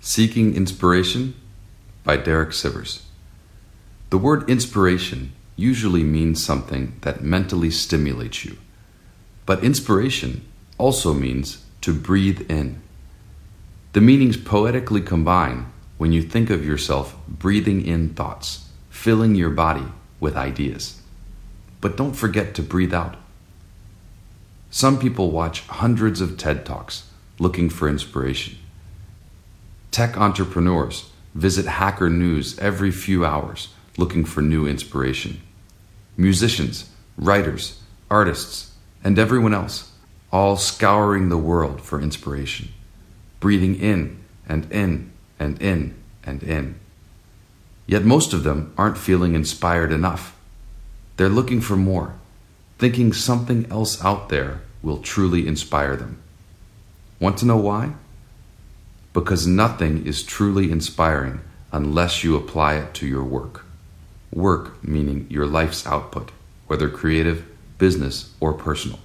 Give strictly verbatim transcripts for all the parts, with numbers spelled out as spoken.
Seeking Inspiration by Derek Sivers. The word inspiration usually means something that mentally stimulates you, but inspiration also means to breathe in. The meanings poetically combine when you think of yourself breathing in thoughts, filling your body with ideas. But don't forget to breathe out. Some people watch hundreds of TED Talks looking for inspiration. Tech entrepreneurs visit Hacker News every few hours looking for new inspiration. Musicians, writers, artists, and everyone else all scouring the world for inspiration, breathing in and in and in and in. Yet most of them aren't feeling inspired enough. They're looking for more, thinking something else out there will truly inspire them. Want to know why? Because nothing is truly inspiring unless you apply it to your work. Work meaning your life's output, whether creative, business, or personal.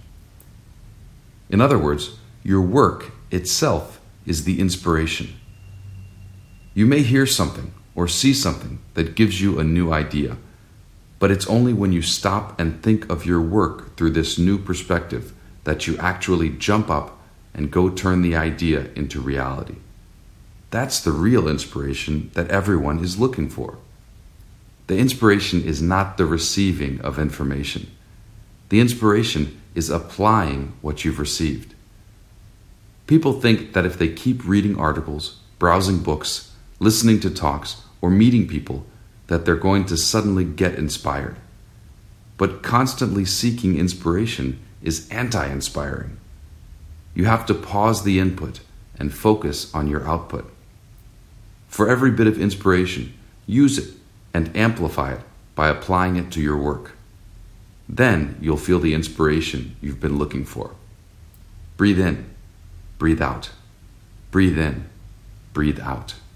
In other words, your work itself is the inspiration. You may hear something or see something that gives you a new idea, but it's only when you stop and think of your work through this new perspective that you actually jump up and go turn the idea into reality. That's the real inspiration that everyone is looking for. The inspiration is not the receiving of information. The inspiration is applying what you've received. People think that if they keep reading articles, browsing books, listening to talks, or meeting people, that they're going to suddenly get inspired. But constantly seeking inspiration is anti-inspiring. You have to pause the input and focus on your output. For every bit of inspiration, use it and amplify it by applying it to your work. Then you'll feel the inspiration you've been looking for. Breathe in, breathe out. Breathe in, breathe out.